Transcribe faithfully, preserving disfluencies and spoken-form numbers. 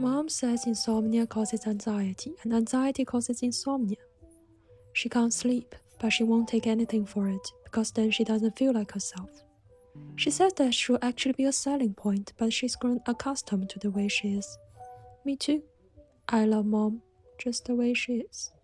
Mom says insomnia causes anxiety, and anxiety causes insomnia. She can't sleep, but she won't take anything for it, because then she doesn't feel like herself. She says that should actually be a selling point, but she's grown accustomed to the way she is. Me too. I love Mom, just the way she is.